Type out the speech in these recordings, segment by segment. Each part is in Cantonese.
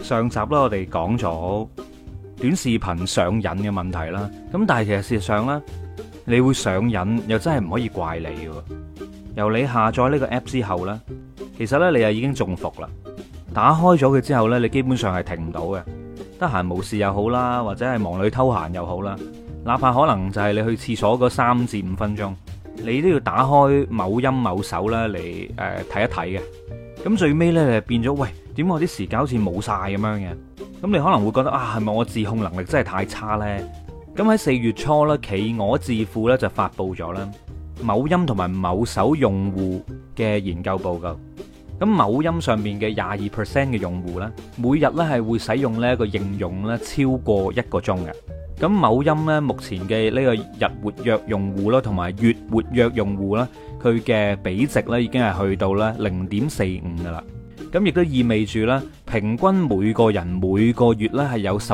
上集啦，我哋講咗短視頻上癮嘅問題啦。咁但係其實事實上呢，你會上癮又真係唔可以怪你嘅。由你下載呢個 app 之後呢，其實呢，你又已經中伏啦。打開咗佢之後呢，你基本上係停唔到嘅。得閒無事又好啦，或者係忙裏偷閒又好啦，哪怕可能就係你去廁所嗰3至5分鐘，你都要打開某音某手啦嚟睇一睇嘅。咁最尾呢，你就變咗，喂，點解我啲時間好似冇晒咁樣嘅？咁你可能會覺得啊，係咪我自控能力真係太差呢？咁喺4月初呢，企鵝智庫呢就發布咗啦某音同埋某手用戶嘅研究報告。咁某音上面嘅22% 嘅用戶呢，每日呢係會使用呢一個應用呢超過1個鐘嘅。咁某音呢，目前嘅呢個日活躍用戶啦，同埋月活躍用戶啦，佢嘅比值呢已經係去到咧0.45噶啦。咁亦都意味住呢，平均每個人每個月呢係有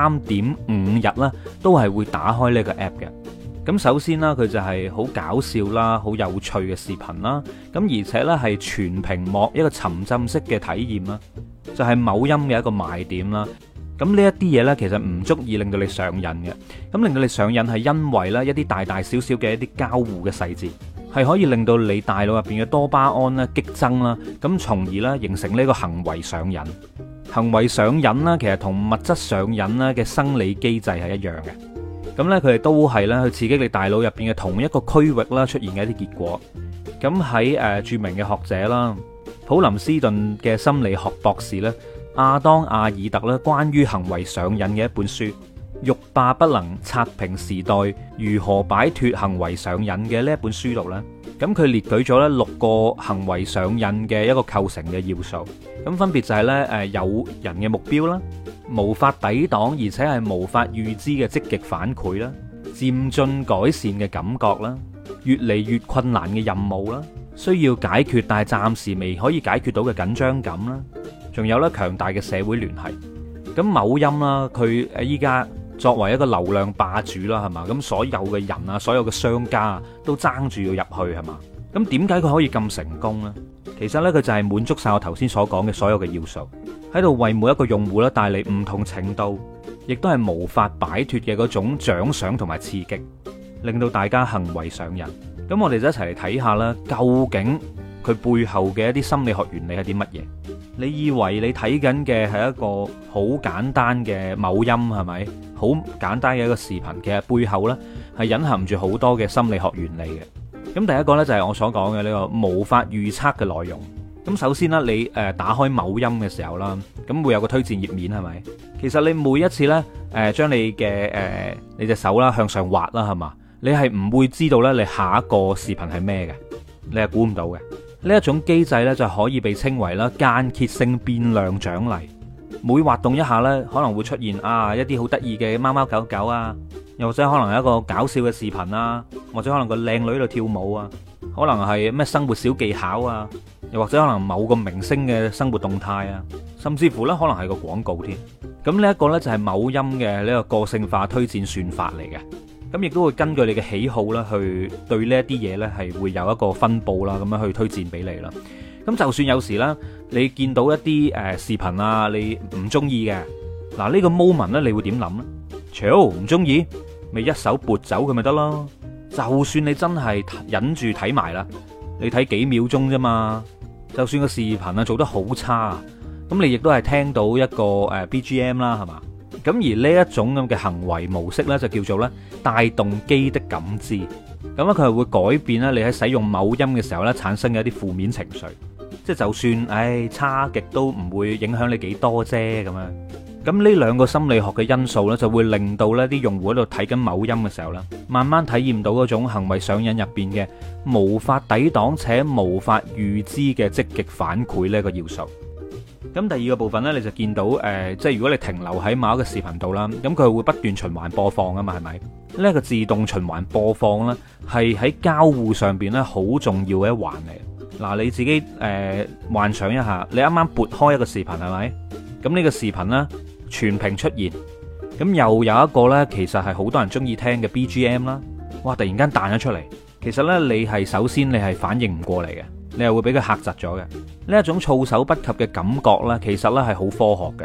13.5日呢都係會打開呢個 app 嘅。咁首先啦，佢就係好搞笑啦，好有趣嘅視頻啦。咁而且呢係全屏幕一個沉浸式嘅體驗啦，就係某音嘅一個賣點啦。咁呢一啲嘢呢，其實唔足以令到你上癮嘅。咁令到你上癮係因為呢一啲大大小小嘅一啲交互嘅細節，係可以令到你大腦入邊嘅多巴胺呢激增啦。咁從而呢形成呢個行為上癮。行為上癮呢，其實同物質上癮呢嘅生理機制係一樣嘅。咁呢，佢哋都係咧去刺激你大腦入邊嘅同一個區域啦出現嘅一啲結果。咁喺著名嘅學者啦，普林斯頓嘅心理學博士咧，亞當阿爾特咧，關於行為上癮嘅一本書《欲罷不能：刷屏時代如何擺脫行為上癮》嘅呢一本書度咧，咁佢列舉咗咧6個行為上癮嘅一個構成嘅要素。咁分別就係咧有人嘅目標啦，無法抵擋而且係無法預知嘅積極反饋啦，漸進改善嘅感覺啦，越嚟越困難嘅任務啦，需要解決但係暫時未可以解決到嘅緊張感啦，仲有咧強大嘅社會聯繫。咁某音啦，佢依家作為一個流量霸主啦，係嘛？咁所有嘅人啊，所有嘅商家啊，都爭住要入去，係嘛？咁點解佢可以咁成功呢？其實呢，佢就係滿足晒我頭先所講嘅所有嘅要素，喺度為每一個用戶咧帶嚟唔同程度，亦都係無法擺脫嘅嗰種獎賞同埋刺激，令到大家行為上癮。咁我哋就一齊嚟睇下啦，究竟佢背後嘅一啲心理學原理係啲乜嘢？你以為你睇緊嘅係一個好簡單嘅某音，係咪？好簡單嘅一個視頻，其實背後呢係隱含住好多嘅心理學原理嘅。咁第一個呢，就係我所講嘅呢個無法預測嘅內容。咁首先啦，你打開某音嘅時候啦，咁會有個推薦頁面，係咪？其實你每一次呢，將你嘅你隻手啦向上滑啦，係嘛？你係唔會知道呢，你下一個視頻係咩嘅，你係估唔到嘅。呢一種機制呢，就可以被稱為啦間歇性變量獎勵。每滑動一下呢，可能會出現一啲好得意嘅貓貓狗狗啊，又或者可能係一個搞笑嘅視頻啊，或者可能個靚女喺度跳舞啊，可能係咩生活小技巧啊，又或者可能某個明星嘅生活動態啊，甚至乎呢，可能係個廣告添。咁呢一個呢，就係某音嘅呢個個性化推薦算法嚟嘅。咁亦都會根據你嘅喜好啦，去對呢一啲嘢呢係會有一個分佈啦，咁樣去推薦俾你啦。咁就算有時啦，你見到一啲視頻啊，你唔中意嘅，嗱呢個 moment 呢，你會點諗呢？唔中意，咪一手撥走佢咪得咯。就算你真係忍住睇埋啦，你睇幾秒鐘啫嘛。就算個視頻啊做得好差，咁你亦都係聽到一個BGM 啦，係嘛？咁而呢一種咁嘅行為模式呢，就叫做咧帶動機的感知。咁咧佢係會改變咧你喺使用某音嘅時候呢產生嘅一啲負面情緒。即係就算差極都唔會影響你幾多啫咁樣。咁呢兩個心理學嘅因素呢，就會令到呢啲用戶喺度睇緊某音嘅時候呢，慢慢體驗到嗰種行為上癮入邊嘅無法抵擋且無法預知嘅積極反饋呢個要素。咁第二個部分呢，你就見到即係如果你停留喺某一個視頻度啦，咁佢會不斷循環播放啊嘛，係咪？呢一個自動循環播放呢，係喺交互上邊呢好重要嘅一環嚟。嗱，你自己幻想一下，你啱啱撥開一個視頻係咪？咁呢個視頻呢，全屏出現，咁又有一個呢，其實係好多人中意聽嘅 BGM 啦，哇！突然間彈咗出嚟，其實呢，你係首先你係反應唔過嚟嘅。你係會俾佢嚇窒咗嘅。呢一種措手不及嘅感覺呢，其實呢係好科學嘅。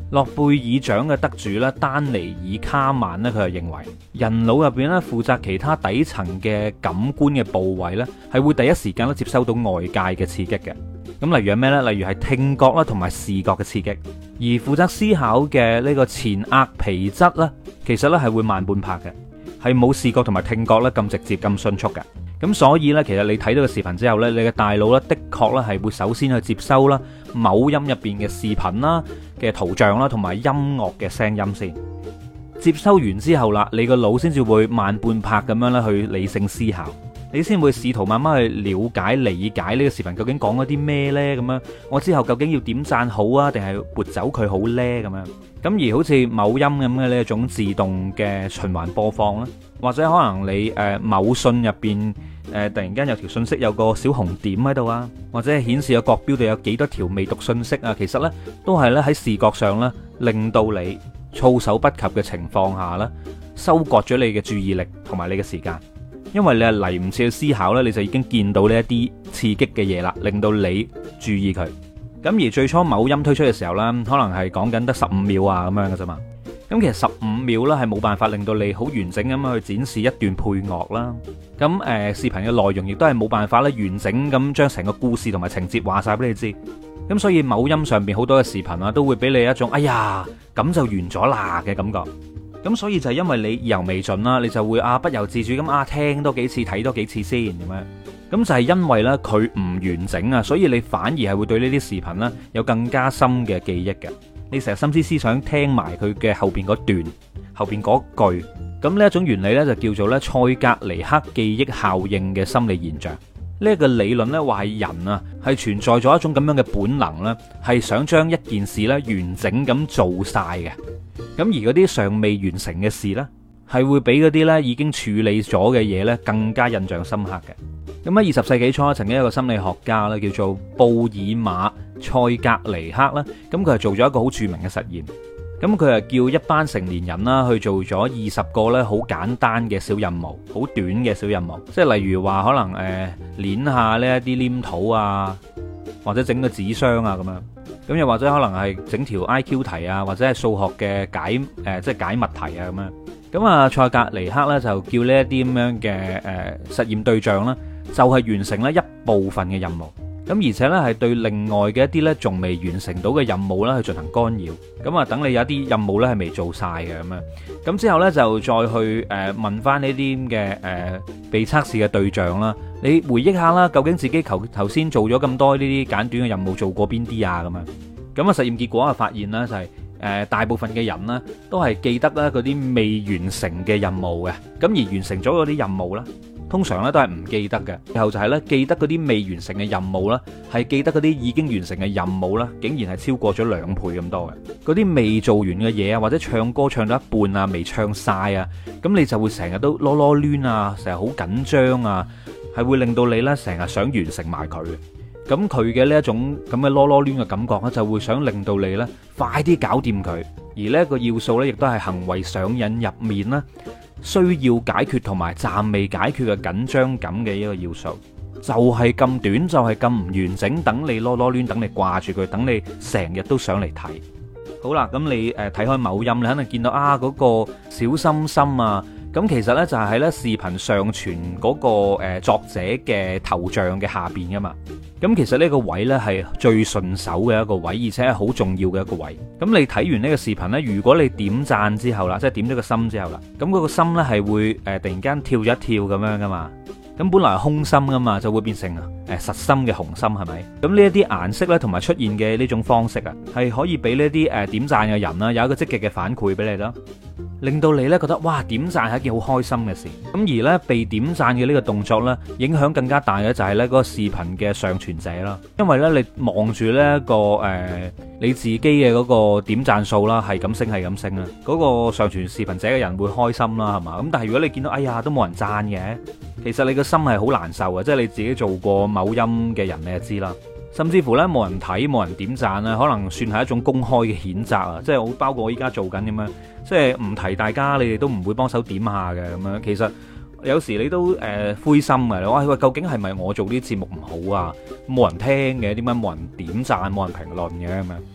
諾貝爾獎嘅得主咧，丹尼爾卡曼咧，佢就認為人腦入邊咧負責其他底層嘅感官嘅部位咧，係會第一時間咧接收到外界嘅刺激嘅。咁例如係咩呢？例如係聽覺啦，同埋視覺嘅刺激。而負責思考嘅呢個前額皮質咧，其實咧係會慢半拍嘅，係冇視覺同埋聽覺咧咁直接咁迅速嘅。咁所以呢，其實你睇到個視頻之後呢，你嘅大腦呢，的確咧係會首先去接收啦某音入邊嘅視頻啦嘅圖像啦，同埋音樂嘅聲音先。接收完之後啦，你個腦先至會慢半拍咁樣咧去理性思考，你先會試圖慢慢去了解理解呢個視頻究竟講咗啲咩呢？咁樣我之後究竟要點讚好啊，定係撥走佢好呢？咁樣咁而好似某音咁嘅呢一種自動嘅循環播放啦，或者可能你某信入邊突然間有條信息有個小紅點喺度啊，或者係顯示個角標度有幾多條未讀信息啊，其實呢都係咧喺視覺上咧令到你措手不及嘅情況下咧收割咗你嘅注意力同埋你嘅時間。因為你係嚟唔切去思考呢，你就已經見到呢一啲刺激嘅嘢啦，令到你注意佢。咁而最初某音推出嘅時候呢，可能係講緊得15秒啊咁樣嘅啫嘛。咁其實15秒呢係冇辦法令到你好完整咁樣去展示一段配樂啦。咁視頻嘅內容亦都係冇辦法咧完整咁將成個故事同埋情節話晒俾你知。咁所以某音上邊好多嘅視頻啊，都會俾你一種哎呀咁就完咗啦嘅感覺。咁所以就係因為你意猶未盡啦，你就會不由自主咁聽多幾次睇多幾次先咁樣。咁就係因為呢，佢唔完整啊，所以你反而係會對呢啲視頻呢有更加深嘅記憶嘅。你成日心思思想聽埋佢嘅後邊嗰段後邊嗰句。咁呢一種原理呢，就叫做咧塞格尼克記憶效應嘅心理現象。呢一個理論呢，話係人啊係存在咗一種咁樣嘅本能呢，係想將一件事呢完整咁做晒嘅。咁而嗰啲尚未完成嘅事呢，係會比嗰啲呢已經處理咗嘅嘢呢更加印象深刻嘅。咁喺20世紀初，曾經有一個心理學家呢，叫做布爾馬塞格尼克啦，咁佢係做咗一個好著名嘅實驗。咁佢係叫一班成年人啦去做咗20個呢好簡單嘅小任務，好短嘅小任務，即係例如話可能捏下呢一啲黏土啊，或者整個紙箱啊咁樣。咁又或者可能係整條 IQ 題啊，或者係數學嘅即係解密題啊咁樣。咁啊，塞格尼克咧就叫呢一啲咁樣嘅實驗對象啦，就係完成咧一部分嘅任務。咁而且咧係對另外嘅一啲咧仲未完成到嘅任務咧去進行干擾。咁啊，等你有一啲任務咧係未做晒嘅咁樣。咁之後咧就再去問翻呢啲嘅被測試嘅對象啦。你回憶下啦，究竟自己頭先做咗咁多呢啲簡短嘅任務做過邊啲啊？咁樣。咁啊，實驗結果啊發現啦，就係大部分嘅人呢都係記得咧嗰啲未完成嘅任務嘅。咁而完成咗嗰啲任務啦，通常咧都係唔記得嘅。然後就係咧記得嗰啲未完成嘅任務啦，係記得嗰啲已經完成嘅任務啦，竟然係超過咗2倍咁多嘅。嗰啲未做完嘅嘢啊，或者唱歌唱到一半啊，未唱晒啊，咁你就會成日都囉囉攣啊，成日好緊張啊，係會令到你咧成日想完成埋佢。咁佢嘅呢一種咁嘅囉囉攣嘅感覺咧，就會想令到你咧快啲搞掂佢。而呢一個要素咧，亦都係行為上癮入面啦，需要解決同埋暫未解決嘅緊張感嘅一個要素。就係咁短，就係咁唔完整，等你囉囉攣，等你掛住佢，等你成日都想嚟睇。好啦，咁你睇開某音，你肯定見到嗰個小心心啊。咁其實呢，就係呢視頻上傳嗰個作者嘅頭像嘅下邊噶嘛。咁其實呢個位呢，係最順手嘅一個位，而且係好重要嘅一個位。咁你睇完呢個視頻呢，如果你點讚之後啦，即係點咗個心之後啦，咁嗰個心呢係會突然間跳咗一跳咁樣噶嘛。咁本來係空心噶嘛，就會變成實心嘅紅心，係咪？咁呢一啲顏色呢，同埋出現嘅呢種方式啊，係可以俾呢啲點讚嘅人啦，有一個積極嘅反饋俾你啦，令到你呢覺得哇，點讚係一件好開心嘅事。咁而呢，被點讚嘅呢個動作呢，影響更加大嘅就係呢嗰個視頻嘅上傳者啦。因為呢，你望住呢個你自己嘅嗰個點讚數啦，係咁升係咁升啦，嗰個上傳視頻者嘅人會開心啦，係嘛？咁但係如果你見到哎呀都冇人讚嘅，其實你個心係好難受嘅，即係你自己做過某音嘅人，你就知啦。甚至乎呢，冇人睇冇人點讚咧，可能算係一種公開嘅譴責啊！即係包括我依家做緊咁樣，即係唔提大家，你哋都唔會幫手點下嘅咁樣。其實有時你都灰心嘅，你話喂，究竟係咪我做啲節目唔好啊？冇人聽嘅，點解冇人點讚冇人評論嘅咁樣？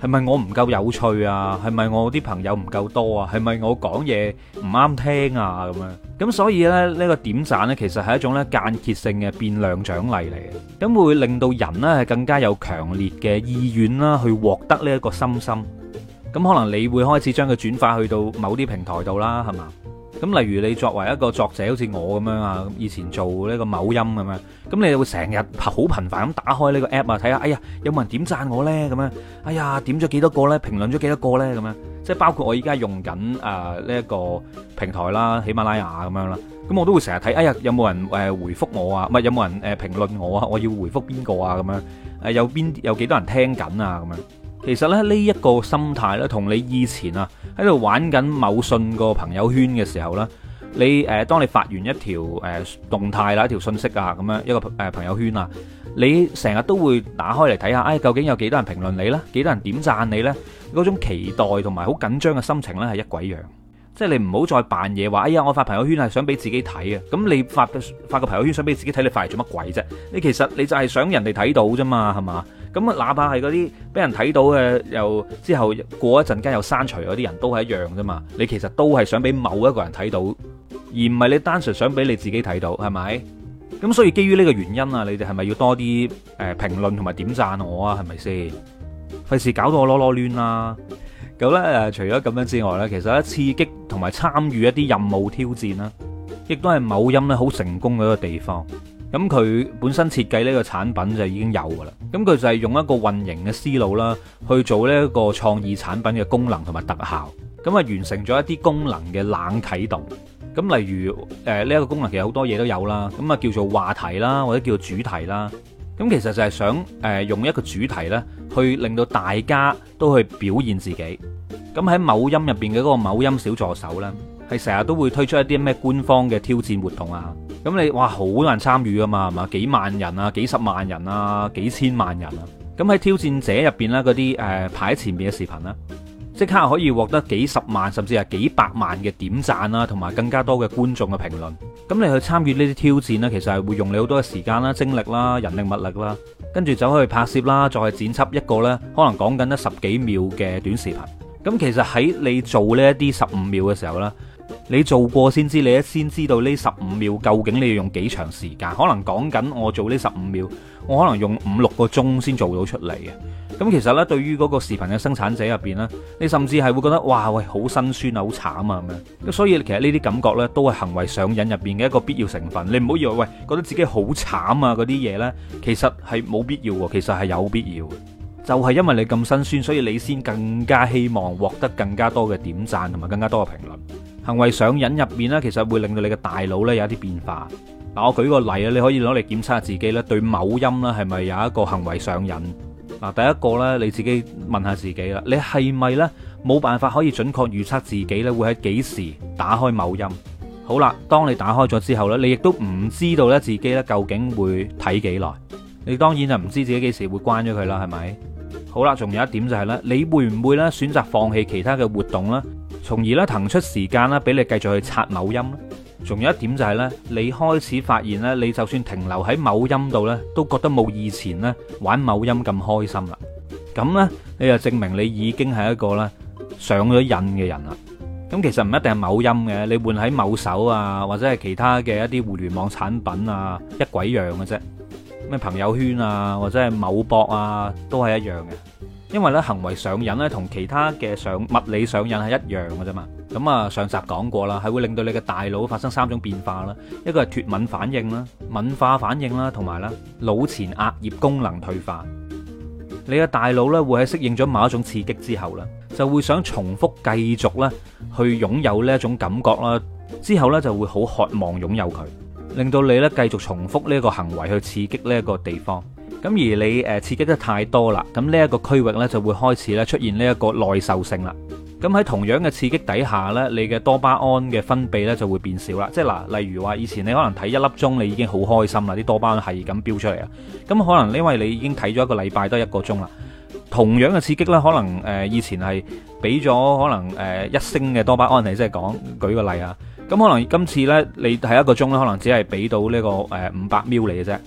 係咪我唔夠有趣啊？係咪我啲朋友唔夠多啊？係咪我講嘢唔啱聽啊？咁樣咁所以咧呢個點讚呢，其實係一種咧間歇性嘅變量獎勵嚟嘅，咁會令到人呢係更加有強烈嘅意願啦，去獲得呢一個心心。咁可能你會開始將佢轉發去到某啲平台度啦，係嘛？咁例如你作為一個作者，好似我咁樣啊，以前做呢個某音咁樣，咁你會成日好頻繁咁打開呢個 app 啊，睇下，哎呀，有冇人點讚我呢？咁樣，哎呀，點咗幾多個呢？評論咗幾多個呢？咁樣，即係包括我依家用緊呢一個平台啦，喜馬拉雅咁樣啦，咁我都會成日睇，哎呀，有冇人回覆我啊？唔係有冇人評論我啊？我要回覆邊個啊？咁樣，有幾多人聽緊啊？咁樣。其實咧呢一個心態咧，同你以前啊喺度玩緊某信個朋友圈嘅時候咧，你當你發完一條動態啦，一條信息啊，咁樣一個朋友圈啊，你成日都會打開嚟睇下，究竟有幾多人評論你呢？幾多人點讚你呢？嗰種期待同埋好緊張嘅心情呢，係一鬼樣。即係你唔好再扮嘢話，哎呀，我發朋友圈係想俾自己睇啊！咁你發個朋友圈想俾自己睇，你發嚟做乜鬼啫？你其實你就係想人哋睇到啫嘛，係嘛？咁啊，哪怕係嗰啲俾人睇到嘅，又之後過一陣間又刪除嗰啲人都係一樣啫嘛。你其實都係想俾某一個人睇到，而唔係你單純想俾你自己睇到，係咪？咁所以基於呢個原因啊，你哋係咪要多啲評論同埋點讚我啊？係咪先？費事搞到我囉囉攣啦！咁咧除咗咁樣之外咧，其實咧刺激同埋參與一啲任務挑戰啦，亦都係某音咧好成功嘅一個地方。咁佢本身設計呢個產品就已經有噶啦，咁佢就係用一個運營嘅思路啦，去做呢一個創意產品嘅功能同埋特效，咁啊完成咗一啲功能嘅冷啟動。咁例如呢一個功能其實好多嘢都有啦，咁啊叫做話題啦，或者叫做主題啦。咁其實就係想用一個主題咧，去令到大家都去表現自己。咁喺某音入邊嘅嗰個某音小助手咧，係成日都會推出一啲咩官方嘅挑戰活動啊。咁你哇好多人參與噶嘛，係嘛？幾萬人啊，幾十萬人啊，幾千萬人啊。咁喺挑戰者入邊咧，嗰啲排喺前面嘅視頻啦，即刻可以獲得幾十萬甚至係幾百萬嘅點讚啦，同埋更加多嘅觀眾嘅評論。咁你去參與呢啲挑戰呢，其實係會用你好多嘅時間啦、精力啦、人力物力啦，跟住走去拍攝啦，再去剪輯一個呢可能講緊得10幾秒嘅短視頻。咁其實喺你做呢一啲15秒嘅時候呢，你做過先知，你先知道呢15秒究竟你要用幾長時間。可能講緊我做呢15秒，我可能用5-6個鐘先做到出嚟嘅。咁其實呢，對於嗰個視頻嘅生產者入邊呢，你甚至係會覺得哇喂，好辛酸啊，好慘啊咁樣。咁所以其實呢啲感覺呢，都係行為上癮入邊嘅一個必要成分。你唔好以為喂覺得自己好慘啊嗰啲嘢呢，其實係冇必要喎，其實係有必要。就係因為你咁辛酸，所以你先更加希望獲得更加多嘅點讚同埋更加多嘅評論。行為上癮入面呢，其實會令到你嘅大腦呢有一啲變化。嗱，我舉個例啊，你可以攞嚟檢測下自己呢對某音呢係咪有一個行為上癮。嗱，第一個呢，你自己問下自己啦，你係咪呢冇辦法可以準確預測自己呢會喺幾時打開某音？好啦，當你打開咗之後呢，你亦都唔知道呢自己呢究竟會睇幾耐。你當然就唔知自己幾時會關咗佢啦，係咪？好啦，仲有一點就係咧，你會唔會咧選擇放棄其他嘅活動啦，從而咧騰出時間啦，俾你繼續去刷某音咧？仲有一點就係咧，你開始發現咧，你就算停留喺某音度咧，都覺得冇以前咧玩某音咁開心啦。咁咧，你就證明你已經係一個咧上咗癮嘅人啦。咁其實唔一定係某音嘅，你換喺某手啊，或者係其他嘅一啲互聯網產品啊，一鬼樣嘅啫。咩朋友圈啊，或者係某博啊，都係一樣嘅。因為咧行為上癮咧，同其他嘅物理上癮係一樣嘅啫嘛。咁啊，上集講過啦，係會令到你嘅大腦發生3種變化啦。一個係脫敏反應啦、敏化反應啦，同埋咧腦前額葉功能退化。你嘅大腦咧會喺適應咗某一種刺激之後咧，就會想重複繼續咧去擁有呢一種感覺啦。之後咧就會好渴望擁有佢。令到你咧繼續重複呢一個行為去刺激呢一個地方，咁而你刺激得太多啦，咁呢一個區域呢就會開始咧出現呢一個耐受性啦。咁喺同樣嘅刺激底下呢，你嘅多巴胺嘅分泌呢就會變少啦。即係嗱，例如話以前你可能睇1粒鐘，你已經好開心啦，啲多巴胺係咁飆出嚟啊。咁可能因為你已經睇咗1個禮拜得1個鐘啦，同樣嘅刺激呢，可能以前係俾咗可能1升嘅多巴胺嚟，即係舉個例啊。咁可能今次呢，你睇1個鐘呢，可能只係俾到呢個500ml嚟嘅啫。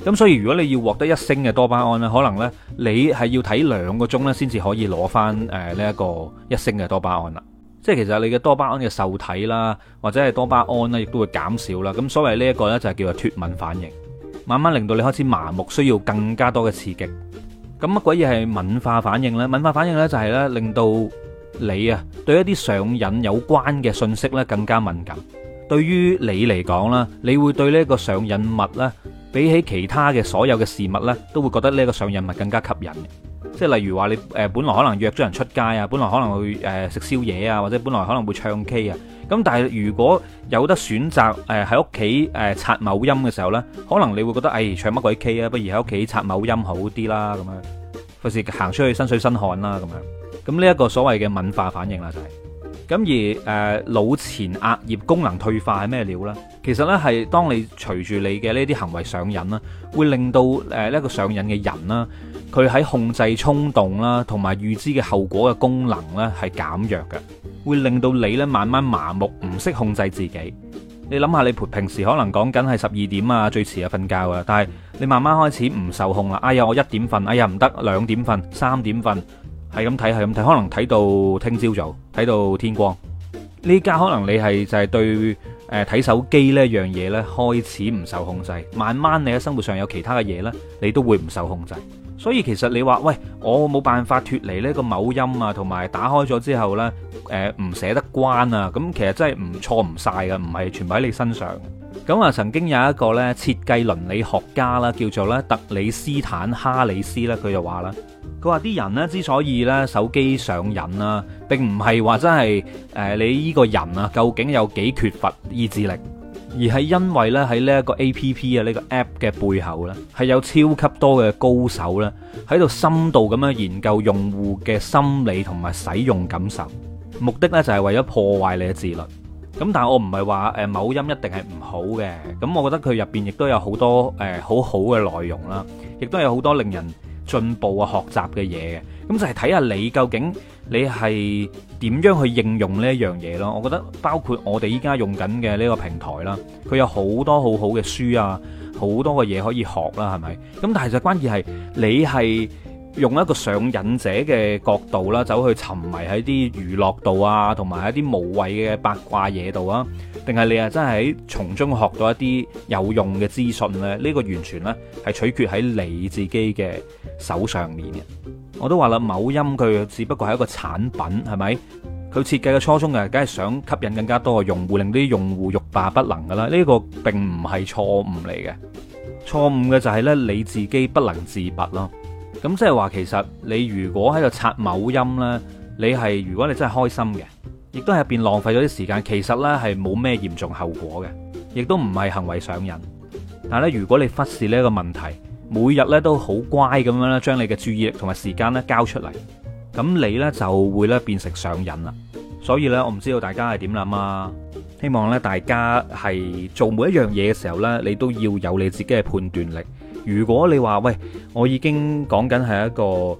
咁所以如果你要獲得1升嘅多巴胺呢，可能呢你係要睇2個鐘呢先至可以攞翻呢一個1升嘅多巴胺啦。即係其實你嘅多巴胺嘅受體啦，或者係多巴胺呢，亦都會減少啦。咁所謂呢一個呢，就係叫做脫敏反應，慢慢令到你開始麻木，需要更加多嘅刺激。咁乜鬼嘢係敏化反應呢？敏化反應呢，就係呢令到你啊對一啲上癮有關嘅信息呢更加敏感。對於你嚟講啦，你會對呢一個上癮物呢，比起其他嘅所有嘅事物呢，都會覺得呢一個上癮物更加吸引。即係例如話你本來可能約咗人出街啊，本來可能會食宵夜啊，或者本來可能會唱 K 啊。咁但係如果有得選擇喺屋企刷某音嘅時候呢，可能你會覺得唱乜鬼 K 啊，不如喺屋企刷某音好啲啦，咁樣費事行出去身水身汗啦咁樣。咁呢一個所謂嘅敏化反應啦就係。咁而腦前額葉功能退化係咩料呢？其實呢係當你隨住你嘅呢啲行為上癮啦，會令到呢一個上癮嘅人啦，佢喺控制衝動啦同埋預知嘅後果嘅功能呢係減弱嘅，會令到你呢慢慢麻木，唔識控制自己。你諗下，你平時可能講緊係12點啊，最遲啊瞓覺啊，但係你慢慢開始唔受控啦。哎呀，我1點瞓，哎呀唔得，2點瞓，3點瞓。係咁睇，可能睇到聽朝早，睇到天光。呢家可能你係就係對睇手機呢樣嘢呢開始唔受控制，慢慢你喺生活上有其他嘅嘢呢，你都會唔受控制。所以其實你話喂，我冇辦法脫離呢個某音啊，同埋打開咗之後呢，唔捨得關啊，咁其實真係唔錯唔晒㗎，唔係全部喺你身上。咁啊，曾經有一個呢設計倫理學家啦，叫做咧特里斯坦哈里斯咧，佢就話啦。佢話啲人呢之所以呢手機上癮啦，並唔係話真係你呢個人啊究竟有幾缺乏意志力，而係因為呢喺呢一個 APP 啊呢個 App 嘅背後呢，係有超級多嘅高手呢喺度深度咁樣研究用戶嘅心理同埋使用感受，目的呢就係為咗破壞你嘅自律。咁但係我唔係話某音一定係唔好嘅，咁我覺得佢入邊亦都有好多好好嘅內容啦，亦都有好多令人進步啊，學習嘅嘢嘅，咁就係睇下你究竟你係點樣去應用呢一樣嘢咯。我覺得包括我哋依家用緊嘅呢個平台啦，佢有好多好好嘅書啊，好多嘅嘢可以學啦，係咪？咁但係就關鍵係你係用一個上癮者嘅角度啦，走去沉迷喺啲娛樂度啊，同埋一啲無謂嘅八卦嘢度啊，定係你啊真係喺從中學到一啲有用嘅資訊呢？呢個完全呢係取決喺你自己嘅手上面嘅。我都話啦，某音佢只不過係一個產品，係咪？佢設計嘅初衷梗係想吸引更加多嘅用戶，令啲用戶欲罷不能噶啦。呢個並唔係錯誤嚟嘅，錯誤嘅就係呢你自己不能自拔咯。咁即係話，其實你如果喺度刷某音呢，如果你真係開心嘅，亦都係入邊浪費咗啲時間，其實呢係冇咩嚴重後果嘅，亦都唔係行為上癮。但係咧，如果你忽視呢一個問題，每日呢都好乖咁樣咧，將你嘅注意力同埋時間呢交出嚟，咁你呢就會呢變成上癮啦。所以呢，我唔知道大家係點諗啊？希望呢大家係做每一樣嘢嘅時候呢，你都要有你自己嘅判斷力。如果你話喂，我已經講緊係一個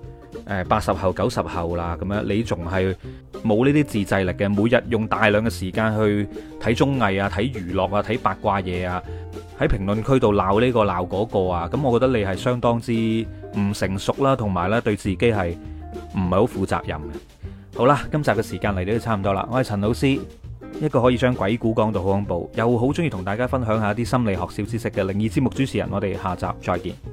80後90後啦，咁樣你仲係冇呢啲自制力嘅，每日用大量嘅時間去睇綜藝啊、睇娛樂啊、睇八卦嘢啊，喺評論區度鬧呢個鬧嗰個啊，咁我覺得你係相當之唔成熟啦，同埋呢對自己係唔係好負責任嘅。好啦，今集嘅時間嚟到都差唔多啦，我係陳老師，一個可以將鬼故講到好恐怖，又好中意同大家分享下啲心理學小知識嘅靈異節目主持人，我哋下集再見。